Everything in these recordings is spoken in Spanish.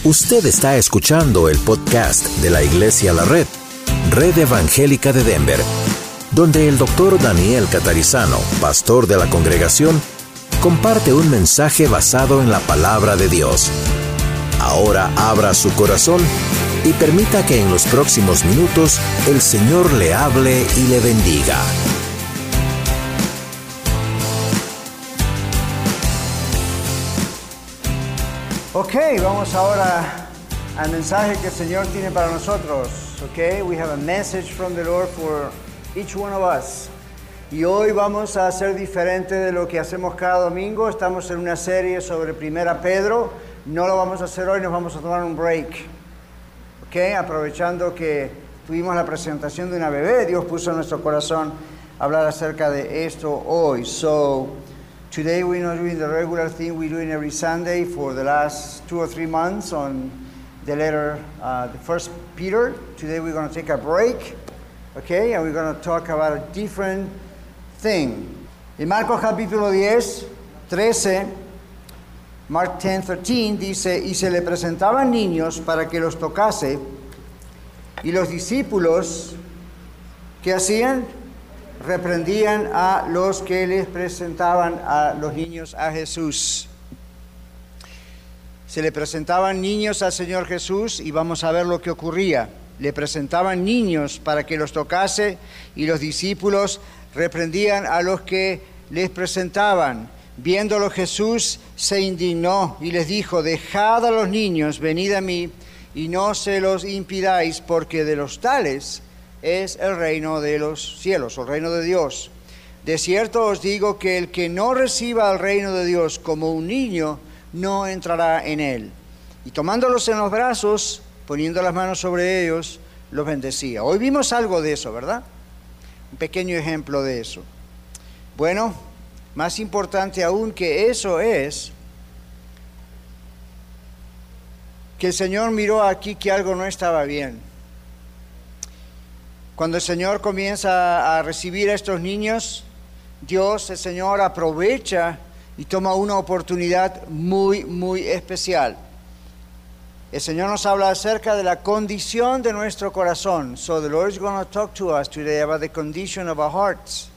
Usted está escuchando el podcast de la Iglesia La Red, Red Evangélica de Denver, donde el Dr. Daniel Catarizano, pastor de la congregación, comparte un mensaje basado en la palabra de Dios. Ahora abra su corazón y permita que en los próximos minutos el Señor le hable y le bendiga. Ok, vamos ahora al mensaje que el Señor tiene para nosotros. Ok, we have a message from the Lord for each one of us. Y hoy vamos a hacer diferente de lo que hacemos cada domingo. Estamos en una serie sobre 1 Pedro. No lo vamos a hacer hoy, nos vamos a tomar un break. Ok, aprovechando que tuvimos la presentación de una bebé, Dios puso en nuestro corazón hablar acerca de esto hoy. So, today we're not doing the regular thing we're doing every Sunday for the last 2 or 3 months on the letter, the First Peter. Today we're going to take a break, okay, and we're going to talk about a different thing. En Marcos capítulo 10, 13, Mark 10:13 dice, y se le presentaban niños para que los tocase, y los discípulos, ¿qué hacían? Reprendían a los que les presentaban a los niños a Jesús. Se le presentaban niños al Señor Jesús y vamos a ver lo que ocurría. Le presentaban niños para que los tocase y los discípulos reprendían a los que les presentaban. Viéndolo Jesús se indignó y les dijo, dejad a los niños, venid a mí y no se los impidáis, porque de los tales es el reino de los cielos, el reino de Dios. De cierto os digo que el que no reciba el reino de Dios como un niño, no entrará en él. Y tomándolos en los brazos, poniendo las manos sobre ellos, los bendecía. Hoy vimos algo de eso, ¿verdad? Un pequeño ejemplo de eso. Bueno, más importante aún que eso es que el Señor miró aquí que algo no estaba bien. Cuando el Señor comienza a recibir a estos niños, Dios, el Señor, aprovecha y toma una oportunidad muy especial. El Señor nos habla acerca de la condición de nuestro corazón. So the Lord is going to talk to us today about the condition of our hearts.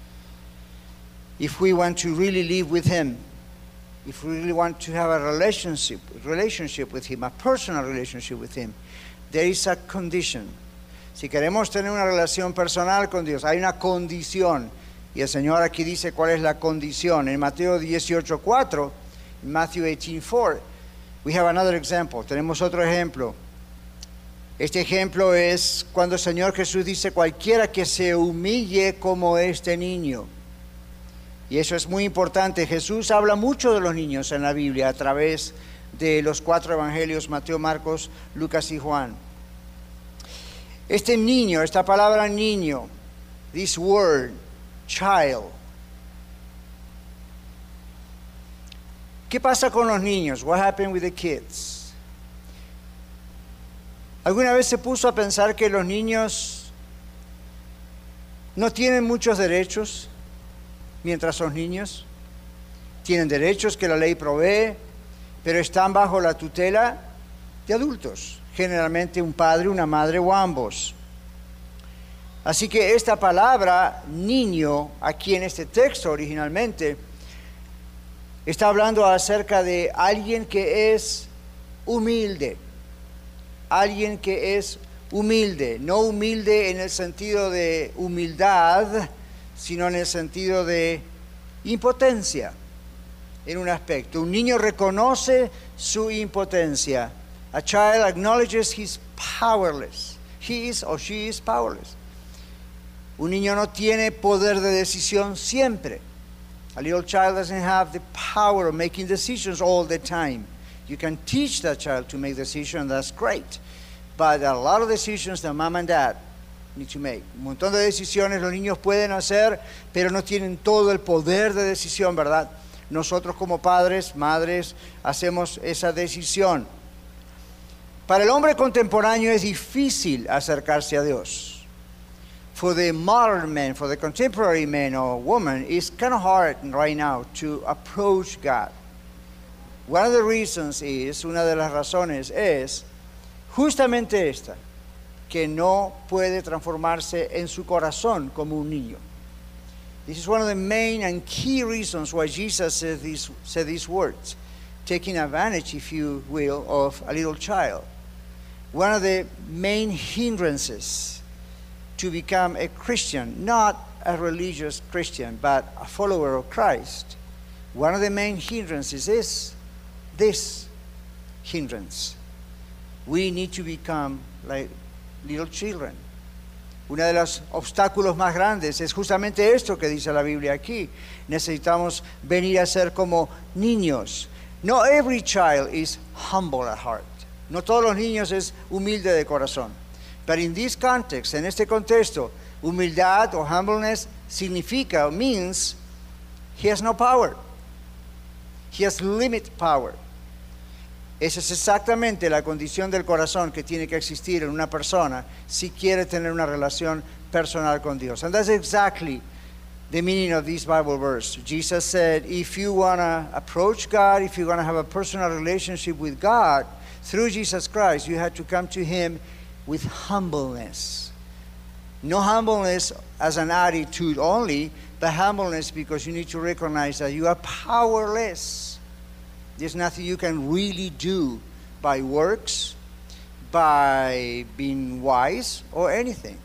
If we want to really live with Him, if we really want to have a relationship with Him, a personal relationship with Him, there is a condition. Si queremos tener una relación personal con Dios, hay una condición. Y el Señor aquí dice cuál es la condición. En Mateo 18:4, en Matthew 18:4, we have another example. Tenemos otro ejemplo. Este ejemplo es cuando el Señor Jesús dice, cualquiera que se humille como este niño. Y eso es muy importante. Jesús habla mucho de los niños en la Biblia a través de los 4 evangelios, Mateo, Marcos, Lucas y Juan. Este niño, esta palabra niño, this word, child. ¿Qué pasa con los niños? What happened with the kids? ¿Alguna vez se puso a pensar que los niños no tienen muchos derechos mientras son niños? Tienen derechos que la ley provee, pero están bajo la tutela de adultos. Generalmente un padre, una madre o ambos. Así que esta palabra niño, aquí en este texto originalmente, está hablando acerca de alguien que es humilde. Alguien que es humilde. No humilde en el sentido de humildad, sino en el sentido de impotencia, en un aspecto. Un niño reconoce su impotencia. A child acknowledges he's powerless. He is or she is powerless. Un niño no tiene poder de decisión siempre. A little child doesn't have the power of making decisions all the time. You can teach that child to make decisions, that's great. But a lot of decisions that mom and dad need to make. Un montón de decisiones los niños pueden hacer, pero no tienen todo el poder de decisión, ¿verdad? Nosotros como padres, madres, hacemos esa decisión. Para el hombre contemporáneo es difícil acercarse a Dios. For the modern man, for the contemporary man or woman, it's kind of hard right now to approach God. One of the reasons is, una de las razones es justamente esta, que no puede transformarse en su corazón como un niño. This is one of the main and key reasons why Jesus said these words, taking advantage, if you will, of a little child. One of the main hindrances to become a Christian, not a religious Christian, but a follower of Christ, one of the main hindrances is this hindrance. We need to become like little children. Uno de los obstáculos más grandes es justamente esto que dice la Biblia aquí. Necesitamos venir a ser como niños. No every child is humble at heart. No todos los niños es humilde de corazón. But in this context, en este contexto, humildad o humbleness significa, means, he has no power. He has limited power. Esa es exactamente la condición del corazón que tiene que existir en una persona si quiere tener una relación personal con Dios. And that's exactly the meaning of this Bible verse. Jesus said, if you want to approach God, if you want to have a personal relationship with God through Jesus Christ, you have to come to Him with humbleness. No humbleness as an attitude only, but humbleness because you need to recognize that you are powerless. There's nothing you can really do by works, by being wise, or anything.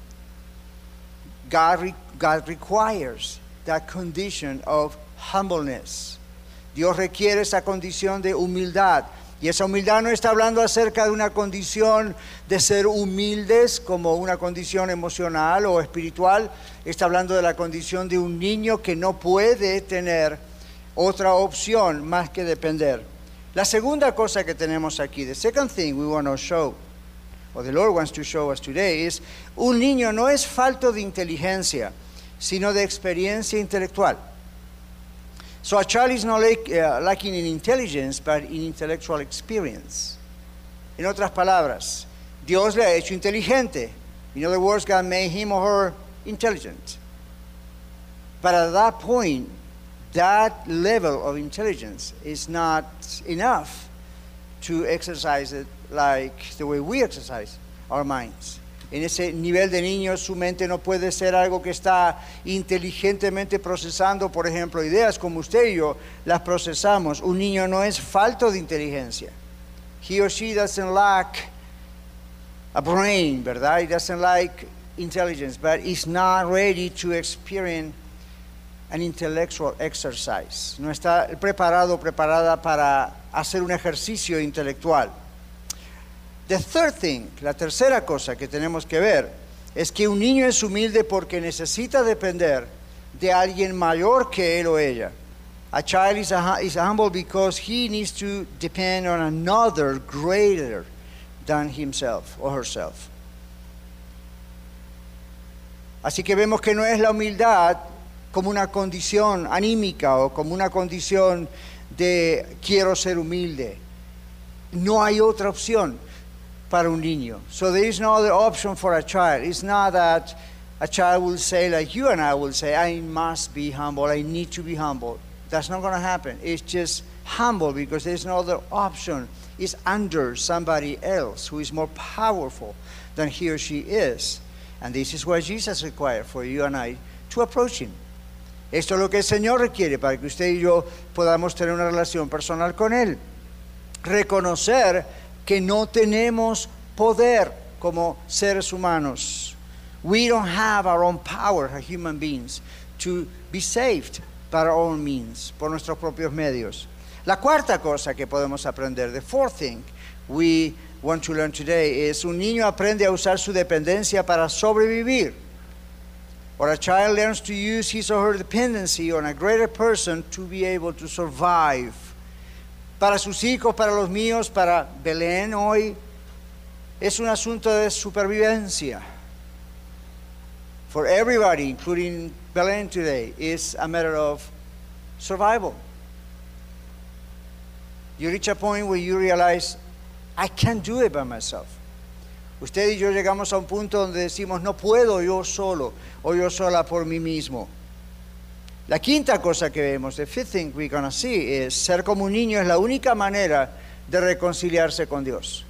God requires that condition of humbleness. Dios requiere esa condición de humildad. Y esa humildad no está hablando acerca de una condición de ser humildes como una condición emocional o espiritual. Está hablando de la condición de un niño que no puede tener otra opción más que depender. La segunda cosa que tenemos aquí, the second thing we want to show, or the Lord wants to show us today, is un niño no es falto de inteligencia, sino de experiencia intelectual. So a child is not lacking in intelligence, but in intellectual experience. En otras palabras, Dios le ha hecho inteligente. In other words, God made him or her intelligent. But at that point, that level of intelligence is not enough to exercise it like the way we exercise our minds. En ese nivel de niño, su mente no puede ser algo que está inteligentemente procesando, por ejemplo, ideas como usted y yo las procesamos. Un niño no es falto de inteligencia. He or she doesn't lack a brain, ¿verdad? He doesn't lack intelligence, but is not ready to experience an intellectual exercise. No está preparado o preparada para hacer un ejercicio intelectual. The third thing, la tercera cosa que tenemos que ver es que un niño es humilde porque necesita depender de alguien mayor que él o ella. A child is humble because he needs to depend on another greater than himself or herself. Así que vemos que no es la humildad como una condición anímica o como una condición de quiero ser humilde. No hay otra opción para un niño. So there is no other option for a child. It's not that a child will say, like you and I will say, I must be humble, I need to be humble. That's not going to happen. It's just humble because there's no other option. It's under somebody else who is more powerful than he or she is. And this is what Jesus required for you and I to approach him. Esto es lo que el Señor requiere para que usted y yo podamos tener una relación personal con Él. Reconocer que no tenemos poder como seres humanos. We don't have our own power as human beings to be saved by our own means, por nuestros propios medios. La cuarta cosa que podemos aprender, the fourth thing we want to learn today, es un niño aprende a usar su dependencia para sobrevivir. Or a child learns to use his or her dependency on a greater person to be able to survive. Para sus hijos, para los míos, para Belén hoy, es un asunto de supervivencia. For everybody, including Belén today, is a matter of survival. You reach a point where you realize, I can't do it by myself. Usted y yo llegamos a un punto donde decimos, no puedo yo solo o yo sola por mí mismo. La quinta cosa que vemos, the fifth thing we're going to see, es ser como un niño es la única manera de reconciliarse con Dios.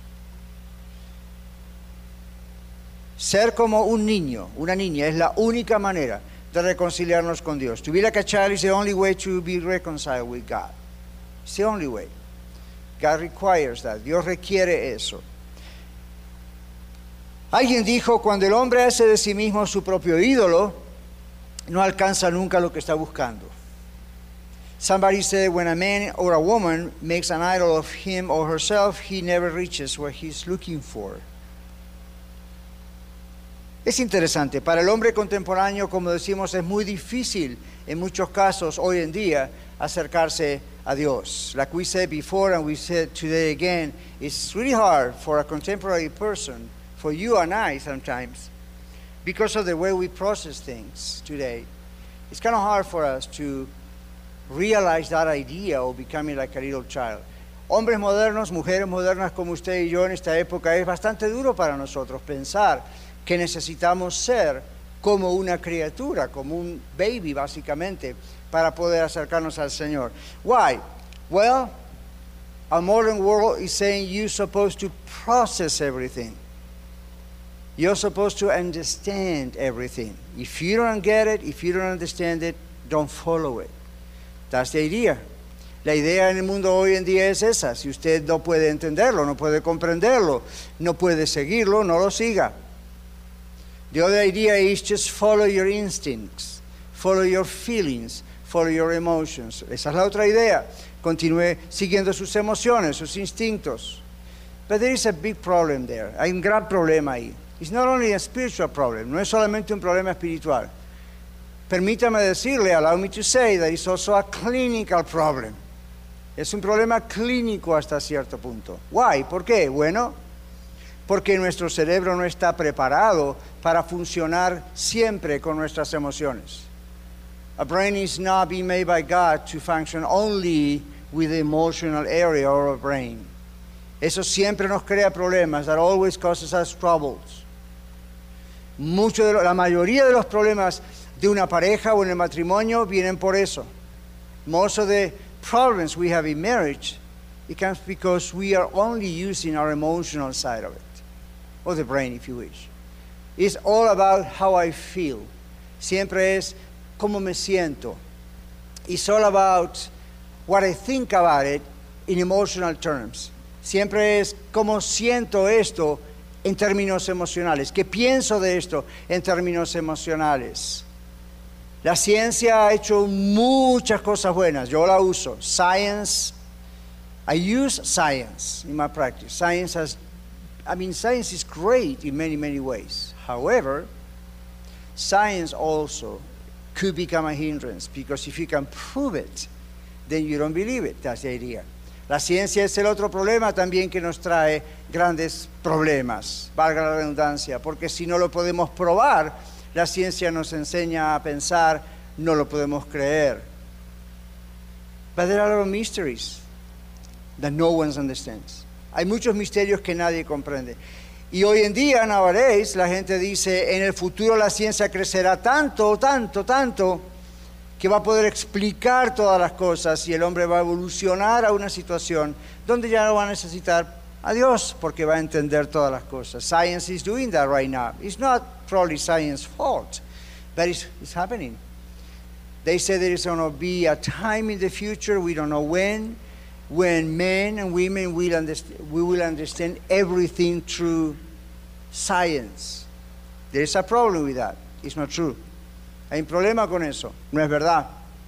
Ser como un niño, una niña, es la única manera de reconciliarnos con Dios. To be like a child is the only way to be reconciled with God. It's the only way. God requires that. Dios requiere eso. Alguien dijo, cuando el hombre hace de sí mismo su propio ídolo, no alcanza nunca lo que está buscando. Somebody said, when a man or a woman makes an idol of him or herself, he never reaches what he's looking for. Es interesante, para el hombre contemporáneo, como decimos, es muy difícil en muchos casos hoy en día acercarse a Dios. Like we said before and we said today again, it's really hard for a contemporary person, for you and I sometimes, because of the way we process things today. It's kind of hard for us to realize that idea of becoming like a little child. Hombres modernos, mujeres modernas como usted y yo en esta época, es bastante duro para nosotros pensar que necesitamos ser como una criatura, como un baby básicamente, para poder acercarnos al Señor. Why? Well, our modern world is saying you're supposed to process everything. You're supposed to understand everything. If you don't get it, if you don't understand it, don't follow it. That's the idea. La idea en el mundo hoy en día es esa. Si usted no puede entenderlo, no puede comprenderlo, no puede seguirlo, no lo siga. The other idea is just follow your instincts, follow your feelings, follow your emotions. Esa es la otra idea. Continúe siguiendo sus emociones, sus instintos. But there is a big problem there. Hay un gran problema ahí. It's not only a spiritual problem. No es solamente un problema espiritual. Permítame decirle, allow me to say, that it's also a clinical problem. Es un problema clínico hasta cierto punto. Why? ¿Por qué? Bueno, porque nuestro cerebro no está preparado para funcionar siempre con nuestras emociones. A brain is not being made by God to function only with the emotional area of a brain. Eso siempre nos crea problemas. That always causes us troubles. La mayoría de los problemas de una pareja o en el matrimonio vienen por eso. Most of the problems we have in marriage, it comes because we are only using our emotional side of it. Or the brain, if you wish. It's all about how I feel. Siempre es cómo me siento. It's all about what I think about it in emotional terms. Siempre es cómo siento esto en términos emocionales. ¿Qué pienso de esto en términos emocionales? La ciencia ha hecho muchas cosas buenas. Yo la uso. Science, I use science in my practice. Science is great in many, many ways. However, science also could become a hindrance, because if you can prove it, then you don't believe it. That's the idea. La ciencia es el otro problema también que nos trae grandes problemas, valga la redundancia, porque si no lo podemos probar, la ciencia nos enseña a pensar, no lo podemos creer. But there are a lot of mysteries that no one understands. Hay muchos misterios que nadie comprende. Y hoy en día, nowadays, la gente dice, en el futuro la ciencia crecerá tanto, tanto, tanto, que va a poder explicar todas las cosas y el hombre va a evolucionar a una situación donde ya no va a necesitar a Dios porque va a entender todas las cosas. Science is doing that right now. It's not probably science's fault, but it's happening. They say there is going to be a time in the future, we don't know when men and women will understand everything through science. There is a problem with that. It's not true. Hay un problema con eso. No es verdad.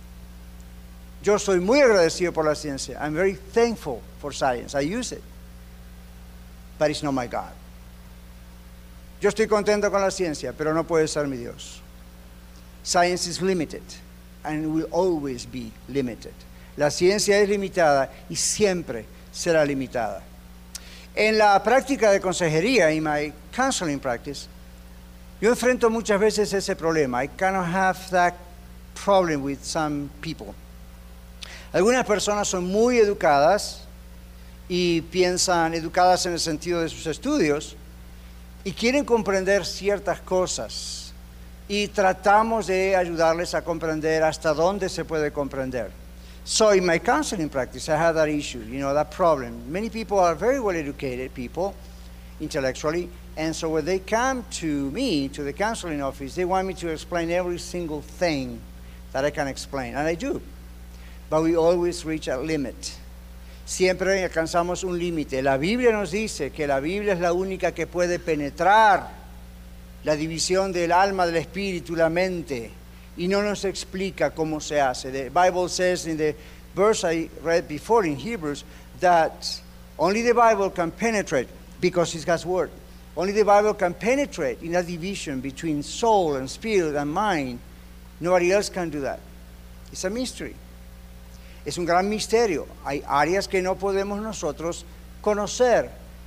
Yo soy muy agradecido por la ciencia. I'm very thankful for science. I use it. But it's not my God. Yo estoy contento con la ciencia, pero no puede ser mi Dios. Science is limited and will always be limited. La ciencia es limitada y siempre será limitada. En la práctica de consejería, in my counseling practice, yo enfrento muchas veces ese problema. I kind of have that problem with some people. Algunas personas son muy educadas y piensan educadas en el sentido de sus estudios y quieren comprender ciertas cosas, y tratamos de ayudarles a comprender hasta dónde se puede comprender. So in my counseling practice, I have that issue, that problem. Many people are very well educated people, intellectually, and so when they come to me, to the counseling office, they want me to explain every single thing that I can explain, and I do. But we always reach a limit. Siempre alcanzamos un límite. La Biblia nos dice que la Biblia es la única que puede penetrar la división del alma, del espíritu, la mente, y no nos explica cómo se hace. The Bible says in the verse I read before in Hebrews that only the Bible can penetrate, because it's God's word. Only the Bible can penetrate in that division between soul and spirit and mind. Nobody else can do that. It's a mystery. Es un gran misterio. Hay áreas que no podemos nosotros conocer.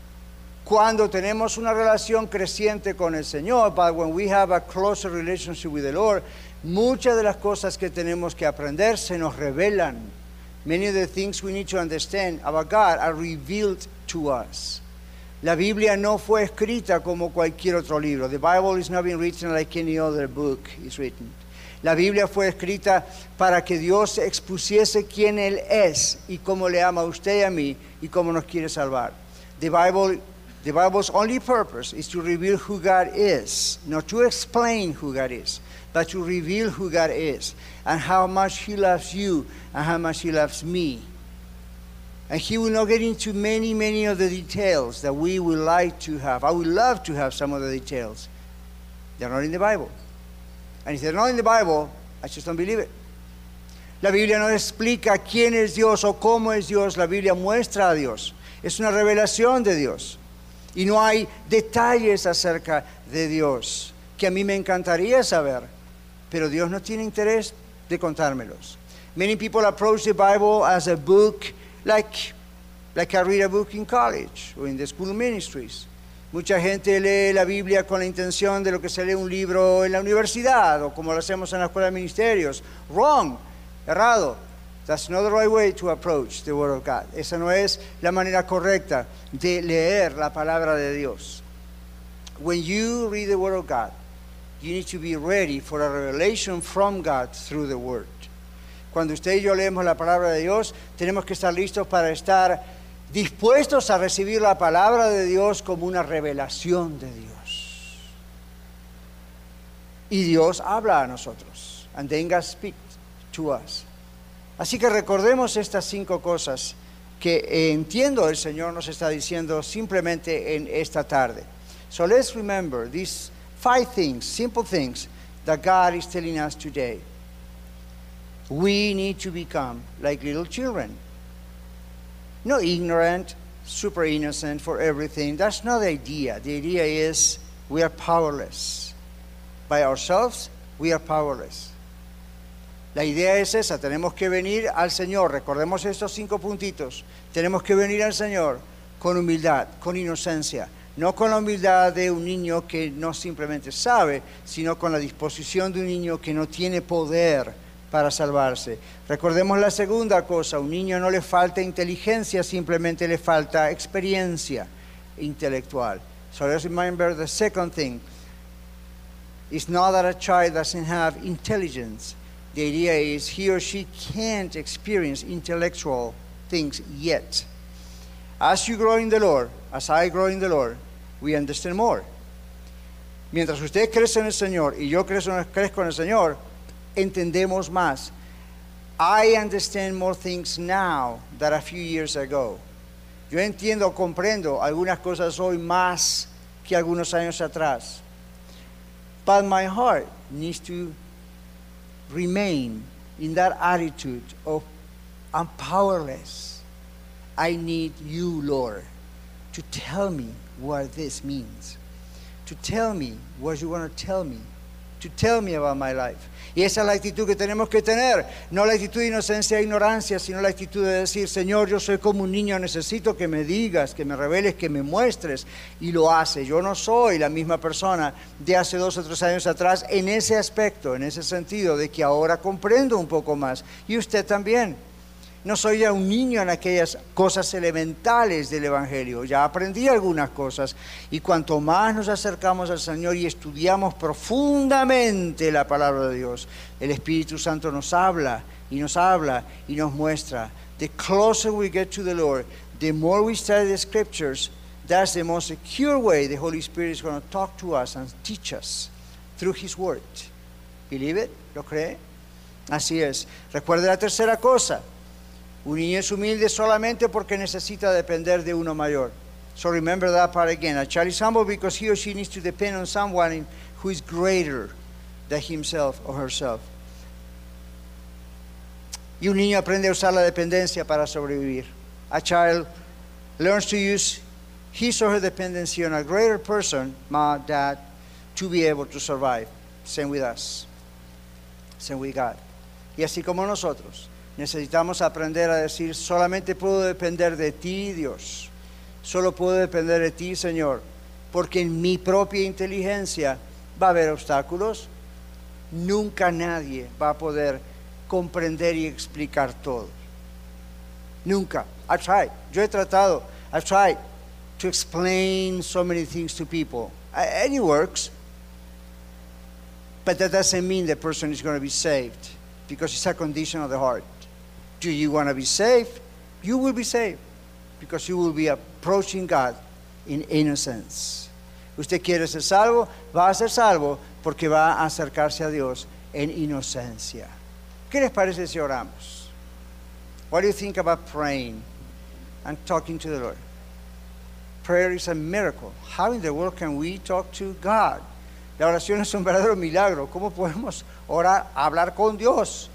Cuando tenemos una relación creciente con el Señor, but when we have a closer relationship with the Lord, muchas de las cosas que tenemos que aprender se nos revelan. Many of the things we need to understand about God are revealed to us. La Biblia no fue escrita como cualquier otro libro. The Bible is not being written like any other book is written. La Biblia fue escrita para que Dios expusiese quién Él es y cómo le ama a usted y a mí y cómo nos quiere salvar. The Bible's only purpose is to reveal who God is, not to explain who God is, but to reveal who God is and how much He loves you and how much He loves me. And He will not get into many of the details that we would like to have. I would love to have some of the details. They're not in the Bible. And if they're not in the Bible, I just don't believe it. La Biblia no explica quién es Dios o cómo es Dios. La Biblia muestra a Dios. Es una revelación de Dios. Y no hay detalles acerca de Dios que a mí me encantaría saber, pero Dios no tiene interés de contármelos. Many people approach the Bible as a book like I read a book in college or in the school ministries. Mucha gente lee la Biblia con la intención de lo que se lee un libro en la universidad o como lo hacemos en la escuela de ministerios. Wrong, errado. That's not the right way to approach the Word of God. Esa no es la manera correcta de leer la palabra de Dios. When you read the Word of God, you need to be ready for a revelation from God through the Word. Cuando usted y yo leemos la palabra de Dios, tenemos que estar listos para estar dispuestos a recibir la palabra de Dios como una revelación de Dios. Y Dios habla a nosotros. And then God speaks to us. Así que recordemos estas 5 cosas que entiendo el Señor nos está diciendo simplemente en esta tarde. So let's remember these 5 things, simple things that God is telling us today. We need to become like little children. Not ignorant, super innocent for everything. That's not the idea. The idea is we are powerless. By ourselves, we are powerless. La idea es esa, tenemos que venir al Señor, recordemos estos 5 puntitos, tenemos que venir al Señor con humildad, con inocencia, no con la humildad de un niño que no simplemente sabe, sino con la disposición de un niño que no tiene poder para salvarse. Recordemos la segunda cosa, a un niño no le falta inteligencia, simplemente le falta experiencia intelectual. So let's remember the second thing. It's not that a child doesn't have intelligence. The idea is he or she can't experience intellectual things yet. As you grow in the Lord, as I grow in the Lord, we understand more. Mientras usted crece en el Señor y yo crezco en el Señor, entendemos más. I understand more things now than a few years ago. Yo entiendo, comprendo algunas cosas hoy más que algunos años atrás. But my heart needs to remain in that attitude of I'm powerless. I need you, Lord, to tell me what this means. To tell me what you want to tell me. To tell me about my life. Y esa es la actitud que tenemos que tener, no la actitud de inocencia e ignorancia, sino la actitud de decir, Señor, yo soy como un niño, necesito que me digas, que me reveles, que me muestres, y lo hace. Yo no soy la misma persona de hace 2 o 3 años atrás en ese aspecto, en ese sentido, de que ahora comprendo un poco más, y usted también. No soy ya un niño en aquellas cosas elementales del Evangelio. Ya aprendí algunas cosas. Y cuanto más nos acercamos al Señor y estudiamos profundamente la palabra de Dios, el Espíritu Santo nos habla y nos muestra. The closer we get to the Lord, the more we study the Scriptures, that's the most secure way the Holy Spirit is going to talk to us and teach us through His Word. Believe it? ¿Lo cree? Así es. Recuerde la tercera cosa. Un niño es humilde solamente porque necesita depender de uno mayor. So remember that part again. A child is humble because he or she needs to depend on someone who is greater than himself or herself. Y un niño aprende a usar la dependencia para sobrevivir. A child learns to use his or her dependency on a greater person, mom, dad, to be able to survive. Same with us. Same with God. Y así como nosotros. Necesitamos aprender a decir, solamente puedo depender de ti, Dios. Solo puedo depender de ti, Señor. Porque en mi propia inteligencia va a haber obstáculos. Nunca nadie va a poder comprender y explicar todo. Nunca. I've tried to explain so many things to people. And it works. But that doesn't mean the person is going to be saved. Because it's a condition of the heart. Do you want to be saved? You will be saved because you will be approaching God in innocence. Usted quiere ser salvo, va a ser salvo porque va a acercarse a Dios en inocencia. ¿Qué les parece si oramos? What do you think about praying and talking to the Lord? Prayer is a miracle. How in the world can we talk to God? La oración es un verdadero milagro. ¿Cómo podemos orar, hablar con Dios?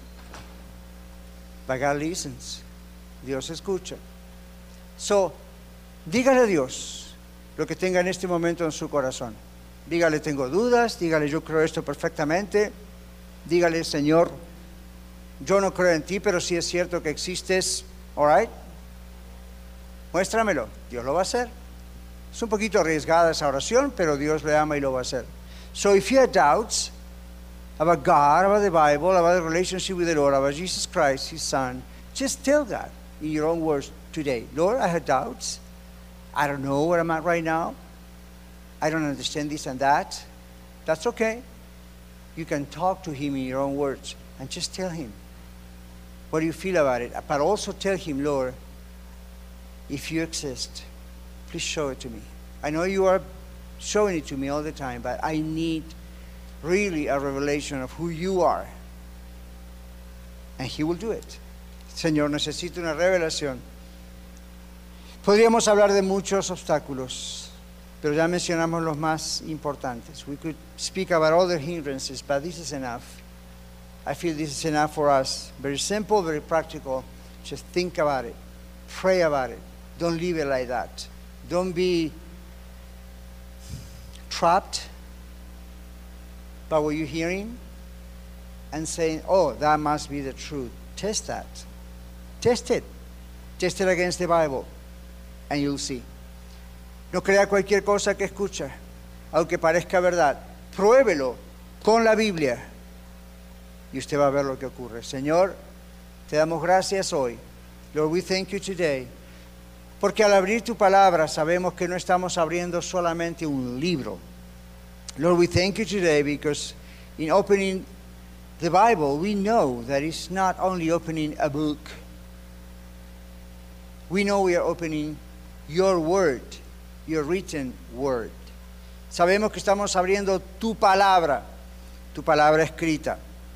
But God listens. Dios escucha. So, dígale a Dios lo que tenga en este momento en su corazón. Dígale, tengo dudas. Dígale, yo creo esto perfectamente. Dígale, Señor, yo no creo en ti, pero sí es cierto que existes. All right? Muéstramelo. Dios lo va a hacer. Es un poquito arriesgada esa oración, pero Dios le ama y lo va a hacer. So, if you have doubts about God, about the Bible, about the relationship with the Lord, about Jesus Christ, His Son, just tell God in your own words today, Lord, I have doubts. I don't know where I'm at right now. I don't understand this and that. That's okay. You can talk to Him in your own words and just tell Him what do you feel about it. But also tell Him, Lord, if you exist, please show it to me. I know you are showing it to me all the time, but I need really a revelation of who you are. And He will do it. Señor, necesito una revelación. Podríamos hablar de muchos obstáculos, pero ya mencionamos los más importantes. We could speak about all the hindrances, but this is enough. I feel this is enough for us. Very simple, very practical. Just think about it. Pray about it. Don't leave it like that. Don't be trapped by what you're hearing and saying, oh, that must be the truth. Test that. Test it. Test it against the Bible and you'll see. No crea cualquier cosa que escucha, aunque parezca verdad. Pruébelo con la Biblia y usted va a ver lo que ocurre. Señor, te damos gracias hoy. Lord, we thank you today. Porque al abrir tu palabra sabemos que no estamos abriendo solamente un libro. Lord, we thank you today because in opening the Bible, we know that it's not only opening a book. We know we are opening your word, your written word. Sabemos que estamos abriendo tu palabra escrita.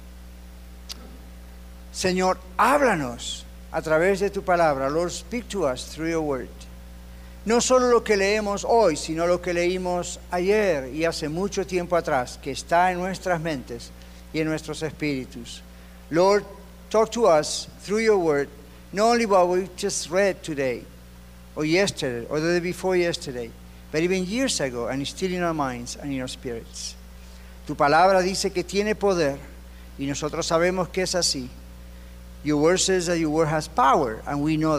Señor, háblanos a través de tu palabra. Lord, speak to us through your word. No solo lo que leemos hoy, sino lo que leímos ayer y hace mucho tiempo atrás, que está en nuestras mentes y en nuestros espíritus. Lord, talk to us through your word, not only what we just read today, or yesterday, or the day before yesterday, but even years ago, and still in our minds and in our spirits. Tu palabra dice que tiene poder, y nosotros sabemos que es así. Your word says that your word has power, and we know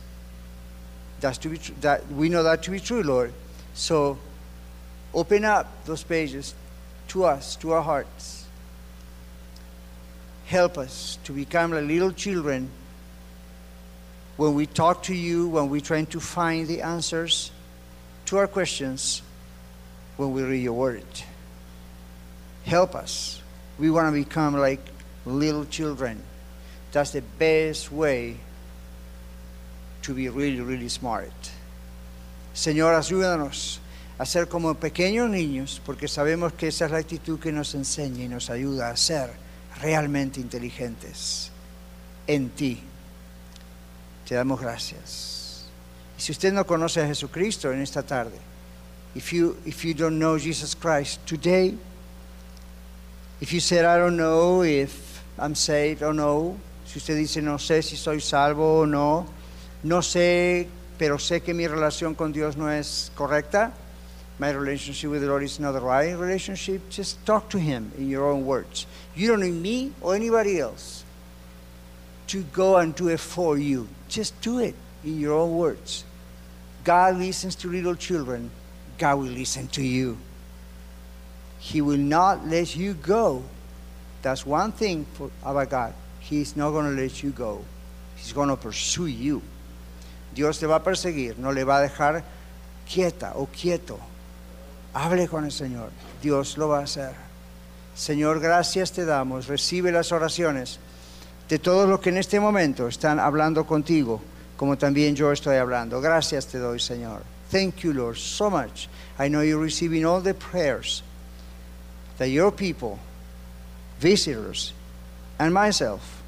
we know that to be true, Lord. So open up those pages to us, to our hearts. Help us to become like little children when we talk to you, when we're trying to find the answers to our questions, when we read your word. Help us. We want to become like little children. That's the best way to be really, really smart. Señor, ayúdanos a ser como pequeños niños, porque sabemos que esa es la actitud que nos enseña y nos ayuda a ser realmente inteligentes en ti. Te damos gracias. Y si usted no conoce a Jesucristo en esta tarde, if you don't know Jesus Christ today, if you said, I don't know if I'm saved or no, si usted dice, no sé si soy salvo o no, no sé, pero sé que mi relación con Dios no es correcta, my relationship with the Lord is not the right relationship, just talk to Him in your own words. You don't need me or anybody else to go and do it for you. Just do it in your own words. God listens to little children. God will listen to you. He will not let you go. That's one thing about God. He's not going to let you go. He's going to pursue you. Dios te va a perseguir, no le va a dejar quieta o quieto. Hable con el Señor. Dios lo va a hacer. Señor, gracias te damos. Recibe las oraciones de todos los que en este momento están hablando contigo, como también yo estoy hablando. Gracias te doy, Señor. Thank you, Lord, so much. I know you're receiving all the prayers that your people, visitors, and myself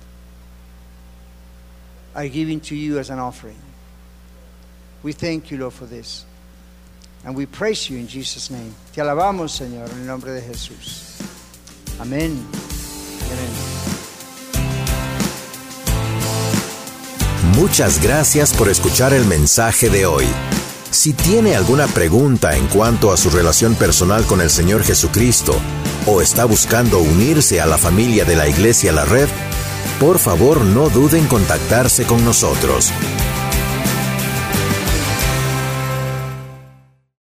are giving to you as an offering. We thank you, Lord, for this. And we praise you in Jesus' name. Te alabamos, Señor, en el nombre de Jesús. Amén. Amén. Muchas gracias por escuchar el mensaje de hoy. Si tiene alguna pregunta en cuanto a su relación personal con el Señor Jesucristo o está buscando unirse a la familia de la Iglesia La Red, por favor no duden en contactarse con nosotros.